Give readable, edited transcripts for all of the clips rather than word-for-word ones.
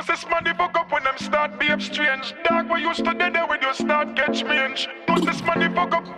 know this money fuck up when them start behave strange. Dog, we used to dead there when you start catch me inch. Know this money fuck up,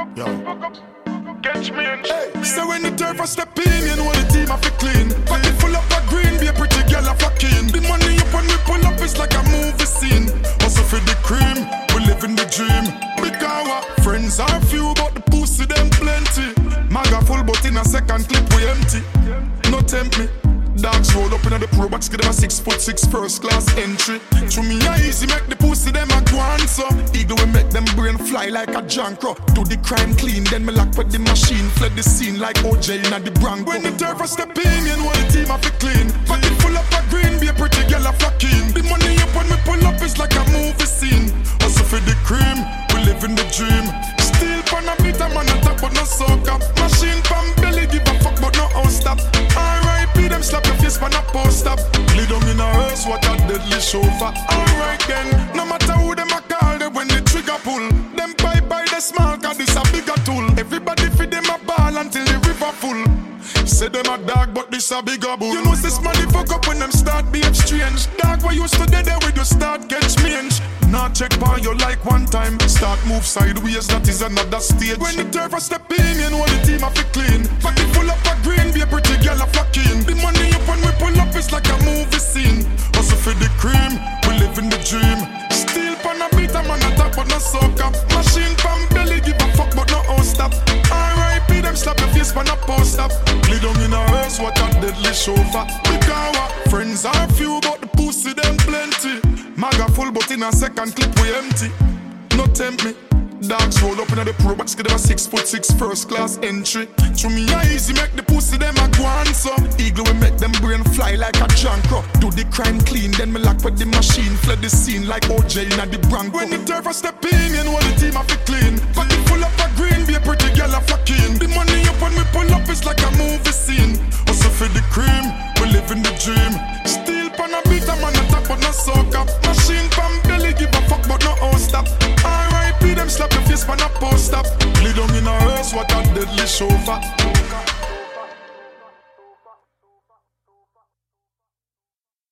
catch me inch. Hey, so when the turf a step in, you know the team have to clean. Pocket full up of green, be a pretty girl a fucking. The money up when we pull up is like a movie scene. Also for the cream, we live in the dream. Because our friends are few, but the pussy them plenty. Maga full, but in a second clip we empty. No tempt me. Dogs roll up in the pro box, give them a 6'6" first class entry. To me, I easy make the pussy them a go on so. Eagle will make them brain fly like a jankro. Do the crime clean, then me lock with the machine. Fled the scene like OJ in the Bronx. When the turf a step in, you know the team have to clean. Pocket full up of green, be a pretty girl a flocking. The money up when we pull up is like a movie scene. Also for the cream, we live in the dream. Still pan a bit, I'm on the top but no soak up. Machine pan belly, give a fuck but no house stop. R.I.P. them slap your face pan a post up. Lay down in a hearse, what a deadly chauffeur. Alright then, no matter who them a call, they when the trigger pull. Them buy the small, cause this a bigger tool. Everybody feed them a ball until the river full. Say them a dog, but this a bigger bull. You know this money fuck up when them start behave strange. Dog, we used to dead there when you start catch me inch. Now check by you like one time. Start move sideways, that is another stage. When the turf a step in, you know the team have to clean. Pocket full up of green, be a pretty girl a flocking. The money up when we pull up is like a movie scene. Also for the cream, we live in the dream. Still pan a beat, I'm on the top but no soak up. Machine pan belly, give a fuck but no house stop. R.I.P. them slap your face pan a post up. Lay down in a hearse, what a deadly chauffeur. Because our friends are few, but the pussy them plenty. Maga full, but in a second clip we empty. No tempt me. Dogs roll up in the pro box, give them a 6'6" first class entry. To me, I easy make the pussy them a go on so. Eagle will make them brain fly like a jankro. Do the crime clean, then me lock with the machine. Fled the scene like OJ in the Bronx. When the turf a step in, you know the team have to clean. Pocket full up of green, be a pretty girl a flocking. The money up when we pull up is like a movie scene. Also for the cream, we live in the dream. Still pan a beat, I'm on the top but no soak up. Machine pan belly, give a fuck but no house stop. R.I.P. them slap your face pan a post up. Lay down in a hearse, what a deadly chauffeur.